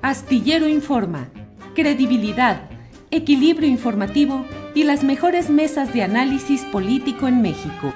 Astillero Informa, credibilidad, equilibrio informativo y las mejores mesas de análisis político en México.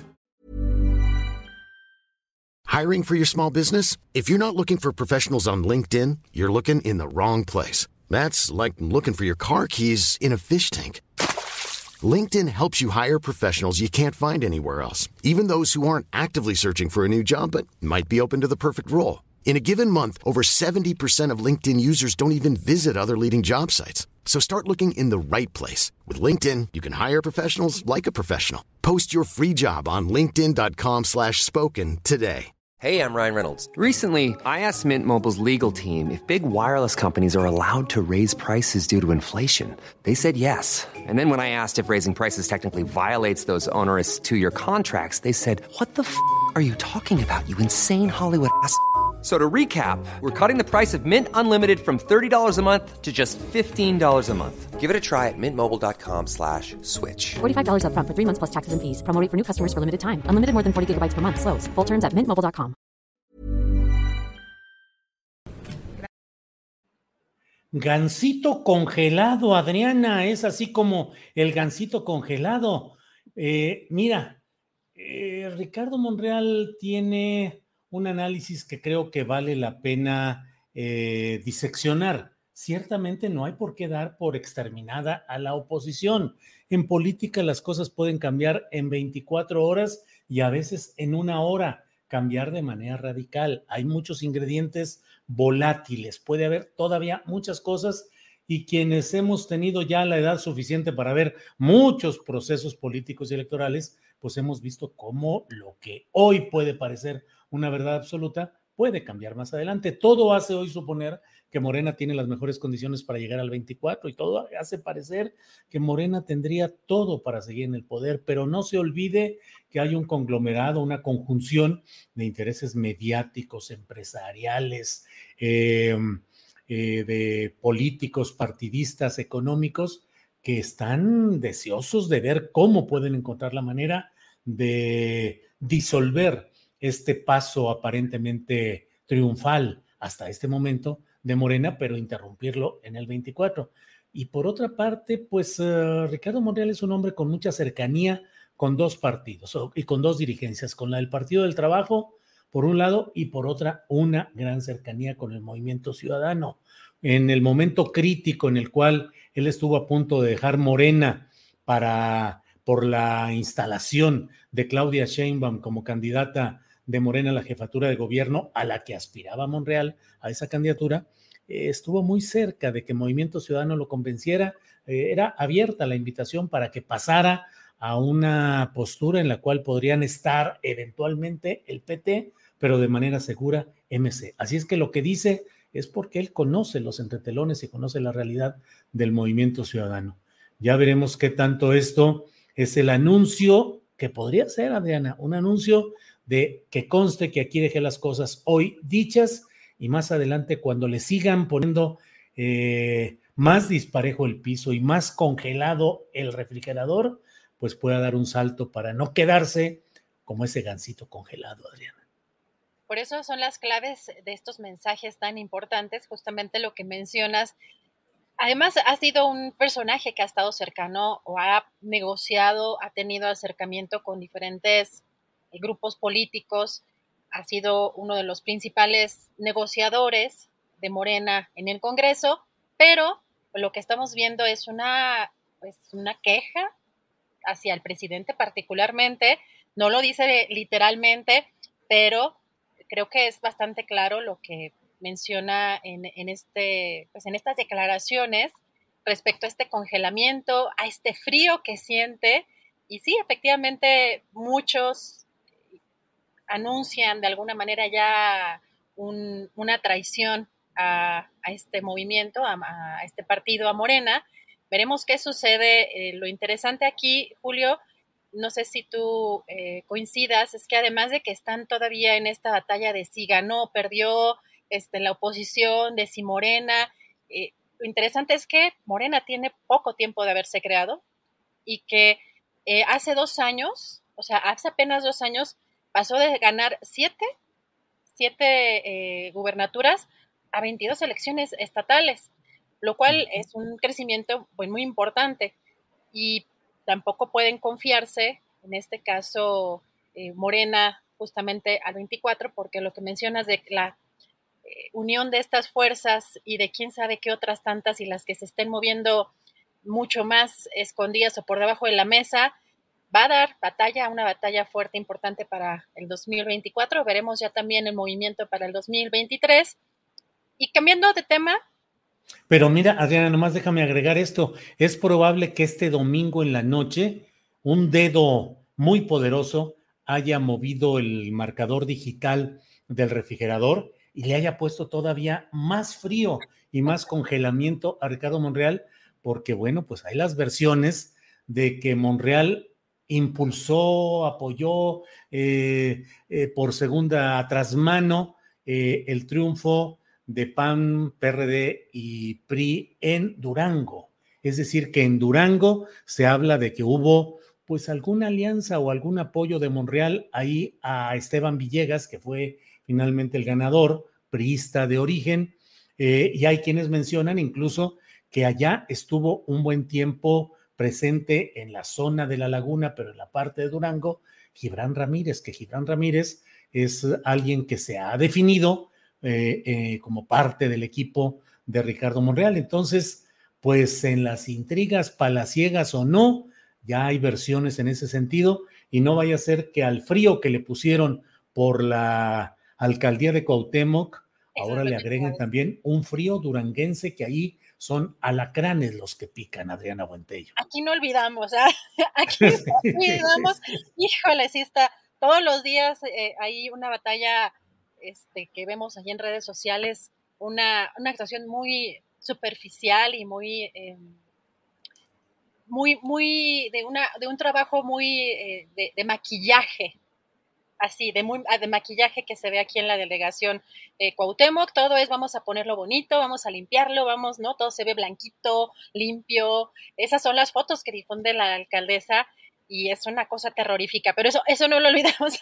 Hiring for your small business? If you're not looking for professionals on LinkedIn, you're looking in the wrong place. That's like looking for your car keys in a fish tank. LinkedIn helps you hire professionals you can't find anywhere else, even those who aren't actively searching for a new job but might be open to the perfect role. In a given month, over 70% of LinkedIn users don't even visit other leading job sites. So start looking in the right place. With LinkedIn, you can hire professionals like a professional. Post your free job on linkedin.com/spoken today. Hey, I'm Ryan Reynolds. Recently, I asked Mint Mobile's legal team if big wireless companies are allowed to raise prices due to inflation. They said yes. And then when I asked if raising prices technically violates those onerous two-year contracts, they said, "What the f*** are you talking about, you insane Hollywood ass?" So to recap, we're cutting the price of Mint Unlimited from $30 a month to just $15 a month. Give it a try at mintmobile.com/switch. $45 up front for 3 months plus taxes and fees. Promo rate for new customers for limited time. Unlimited more than 40 gigabytes per month. Slows full terms at mintmobile.com. Gansito congelado, Adriana, es así como el gansito congelado. Mira, Ricardo Monreal tiene un análisis que creo que vale la pena diseccionar. Ciertamente no hay por qué dar por exterminada a la oposición. En política las cosas pueden cambiar en 24 horas y a veces en una hora, cambiar de manera radical. Hay muchos ingredientes volátiles, puede haber todavía muchas cosas y quienes hemos tenido ya la edad suficiente para ver muchos procesos políticos y electorales, pues hemos visto cómo lo que hoy puede parecer una verdad absoluta puede cambiar más adelante. Todo hace hoy suponer que Morena tiene las mejores condiciones para llegar al 24 y todo hace parecer que Morena tendría todo para seguir en el poder, pero no se olvide que hay un conglomerado, una conjunción de intereses mediáticos, empresariales, de políticos, partidistas, económicos, que están deseosos de ver cómo pueden encontrar la manera de disolver este paso aparentemente triunfal hasta este momento de Morena, pero interrumpirlo en el 24. Y por otra parte, pues Ricardo Monreal es un hombre con mucha cercanía con dos partidos y con dos dirigencias, con la del Partido del Trabajo, por un lado, y por otra, una gran cercanía con el Movimiento Ciudadano. En el momento crítico en el cual él estuvo a punto de dejar Morena por la instalación de Claudia Sheinbaum como candidata de Morena a la jefatura de gobierno, a la que aspiraba Monreal, a esa candidatura, estuvo muy cerca de que Movimiento Ciudadano lo convenciera. Era abierta la invitación para que pasara a una postura en la cual podrían estar eventualmente el PT, pero de manera segura MC. Así es que lo que dice es porque él conoce los entretelones y conoce la realidad del Movimiento Ciudadano. Ya veremos qué tanto esto es el anuncio que podría ser, Adriana, un anuncio de que conste que aquí dejé las cosas hoy dichas y más adelante cuando le sigan poniendo más disparejo el piso y más congelado el refrigerador, pues pueda dar un salto para no quedarse como ese gansito congelado, Adriana. Por eso son las claves de estos mensajes tan importantes, justamente lo que mencionas. Además, ha sido un personaje que ha estado cercano o ha negociado, ha tenido acercamiento con diferentes grupos políticos, ha sido uno de los principales negociadores de Morena en el Congreso, pero lo que estamos viendo es una queja hacia el presidente particularmente. No lo dice literalmente, pero creo que es bastante claro lo que menciona en estas declaraciones respecto a este congelamiento, a este frío que siente. Y sí, efectivamente, muchos anuncian de alguna manera ya una traición a este movimiento, a este partido, a Morena. Veremos qué sucede. Lo interesante aquí, Julio, no sé si tú coincidas, es que además de que están todavía en esta batalla de si ganó o perdió la oposición, de si Morena, lo interesante es que Morena tiene poco tiempo de haberse creado y que hace 2 años, o sea, hace apenas 2 años, pasó de ganar 7 gubernaturas a 22 elecciones estatales, lo cual es un crecimiento pues, muy importante. Y tampoco pueden confiarse, en este caso Morena, justamente al 24, porque lo que mencionas de la unión de estas fuerzas y de quién sabe qué otras tantas y las que se estén moviendo mucho más escondidas o por debajo de la mesa, va a dar una batalla fuerte, importante para el 2024. Veremos ya también el movimiento para el 2023. Y cambiando de tema. Pero mira, Adriana, nomás déjame agregar esto. Es probable que este domingo en la noche un dedo muy poderoso haya movido el marcador digital del refrigerador y le haya puesto todavía más frío y más congelamiento a Ricardo Monreal, porque bueno, pues hay las versiones de que Monreal impulsó, apoyó por segunda trasmano el triunfo de PAN, PRD y PRI en Durango. Es decir, que en Durango se habla de que hubo pues alguna alianza o algún apoyo de Monreal ahí a Esteban Villegas, que fue finalmente el ganador, priista de origen, y hay quienes mencionan incluso que allá estuvo un buen tiempo presente en la zona de La Laguna, pero en la parte de Durango, Gibran Ramírez, que Gibran Ramírez es alguien que se ha definido como parte del equipo de Ricardo Monreal. Entonces, pues en las intrigas palaciegas o no, ya hay versiones en ese sentido, y no vaya a ser que al frío que le pusieron por la alcaldía de Cuauhtémoc, ahora le agreguen también un frío duranguense, que ahí son alacranes los que pican, Adriana Buentello. Aquí no olvidamos, aquí no olvidamos, híjole, sí está, todos los días hay una batalla que vemos allí en redes sociales, una actuación muy superficial y muy de un trabajo muy de maquillaje, así, de maquillaje que se ve aquí en la delegación Cuauhtémoc. Todo es, vamos a ponerlo bonito, vamos a limpiarlo, ¿no? Todo se ve blanquito, limpio. Esas son las fotos que difunde la alcaldesa y es una cosa terrorífica, pero eso no lo olvidamos.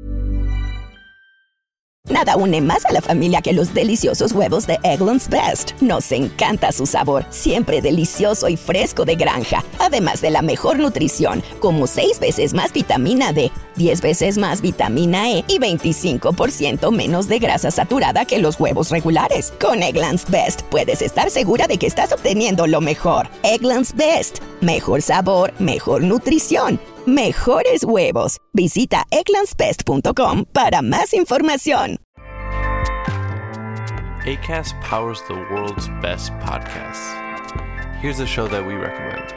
Nada une más a la familia que los deliciosos huevos de Eggland's Best. Nos encanta su sabor, siempre delicioso y fresco de granja. Además de la mejor nutrición, como 6 veces más vitamina D, 10 veces más vitamina E y 25% menos de grasa saturada que los huevos regulares. Con Eggland's Best puedes estar segura de que estás obteniendo lo mejor. Eggland's Best. Mejor sabor, mejor nutrición. Mejores huevos. Visita egglandsbest.com para más información. Acast powers the world's best podcasts. Here's a show that we recommend.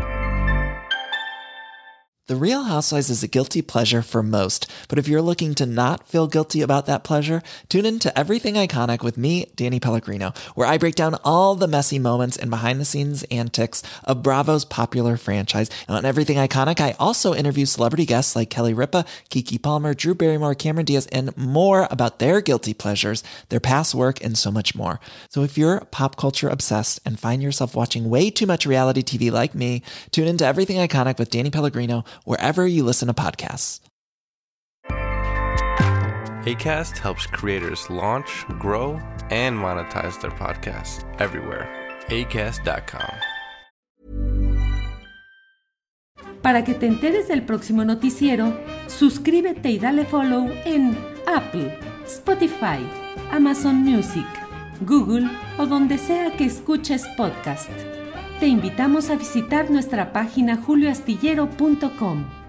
The Real Housewives is a guilty pleasure for most, but if you're looking to not feel guilty about that pleasure, tune in to Everything Iconic with me, Danny Pellegrino, where I break down all the messy moments and behind-the-scenes antics of Bravo's popular franchise. And on Everything Iconic, I also interview celebrity guests like Kelly Ripa, Keke Palmer, Drew Barrymore, Cameron Diaz, and more about their guilty pleasures, their past work, and so much more. So if you're pop culture obsessed and find yourself watching way too much reality TV like me, tune in to Everything Iconic with Danny Pellegrino, wherever you listen to podcasts. Acast helps creators launch, grow, and monetize their podcasts everywhere. Acast.com. Para que te enteres del próximo noticiero, suscríbete y dale follow en Apple, Spotify, Amazon Music, Google o donde sea que escuches podcast. Te invitamos a visitar nuestra página julioastillero.com.